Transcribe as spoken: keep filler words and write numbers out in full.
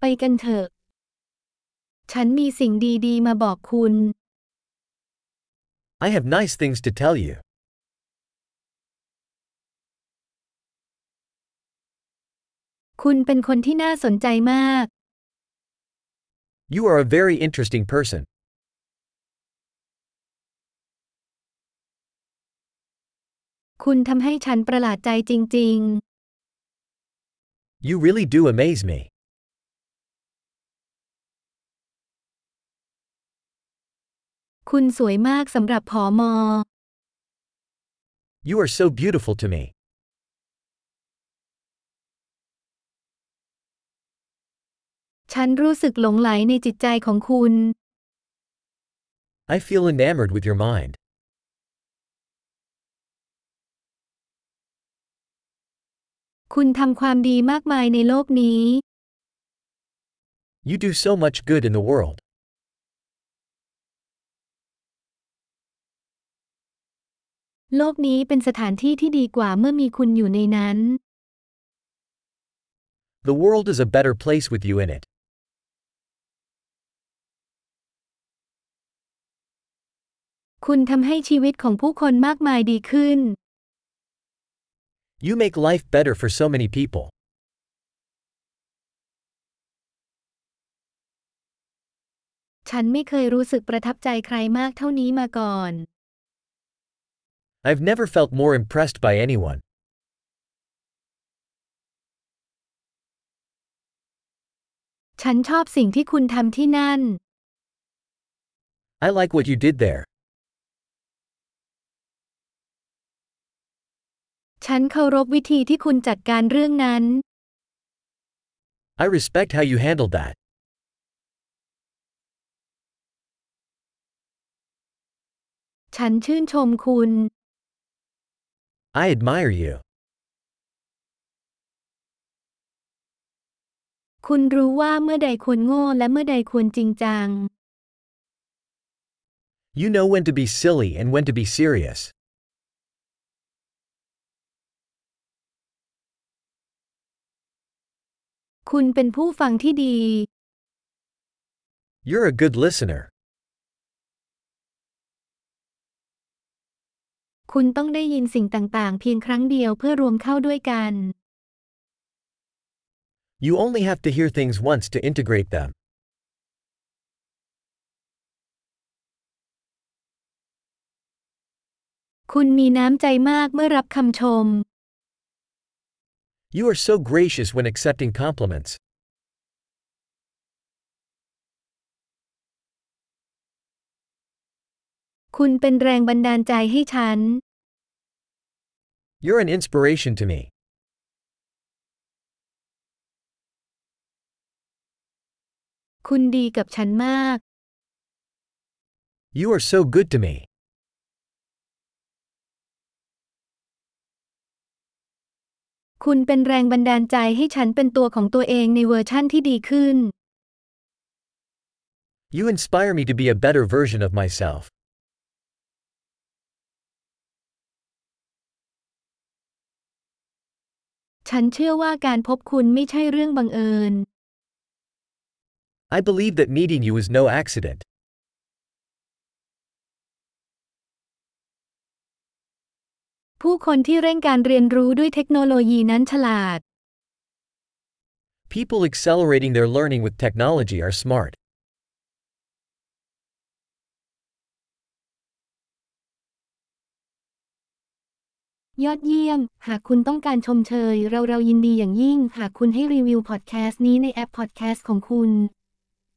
กันเถอะฉันมีสิ่งดีๆมาบอกคุณ I have nice things to tell you. คุณเป็นคนที่น่าสนใจมาก You are a very interesting person. คุณทำให้ฉันประหลาดใจจริง You really do amaze me. ๆ คุณสวยมากสำหรับผอมอ You are so beautiful to me. ฉันรู้สึกหลงไหลในจิตใจของคุณ I feel enamored with your mind. คุณทำความดีมากมายในโลกนี้ You do so much good in the world. โลกนี้เป็นสถานที่ที่ดีกว่าเมื่อมีคุณอยู่ในนั้น The world is a better place with you in it. คุณทำให้ชีวิตของผู้คนมากมายดีขึ้น You make life better for so many people. ฉันไม่เคยรู้สึกประทับใจใครมากเท่านี้มาก่อน I've never felt more impressed by anyone. ฉันชอบสิ่งที่คุณทำที่นั่น I like what you did there. ฉันเคารพวิธีที่คุณจัดการเรื่องนั้น I respect how you handled that. ฉันชื่นชมคุณ I admire you. คุณรู้ว่าเมื่อใดควรโง่และเมื่อใดควรจริงจัง You know when to be silly and when to be serious. คุณเป็นผู้ฟังที่ดี You're a good listener. คุณต้องได้ยินสิ่งต่างๆเพียงครั้งเดียวเพื่อรวมเข้าด้วยกัน You only have to hear things once to integrate them. คุณมีน้ำใจมากเมื่อรับคำชม You are so gracious when accepting compliments. คุณเป็นแรงบันดาลใจให้ฉัน You're an inspiration to me. คุณดีกับฉันมาก You are so good to me. คุณเป็นแรงบันดาลใจให้ฉันเป็นตัวของตัวเองในเวอร์ชั่นที่ดีขึ้น You inspire me to be a better version of myself. ฉันเชื่อว่าการพบคุณไม่ใช่เรื่องบังเอิญ I believe that meeting you is no accident. ผู้คนที่เร่งการเรียนรู้ด้วยเทคโนโลยีนั้นฉลาด People accelerating their learning with technology are smart. ยอดเยี่ยม หากคุณต้องการชมเชย เราเรายินดีอย่างยิ่ง หากคุณให้รีวิวพอดแคสต์นี้ในแอปพอดแคสต์ของคุณ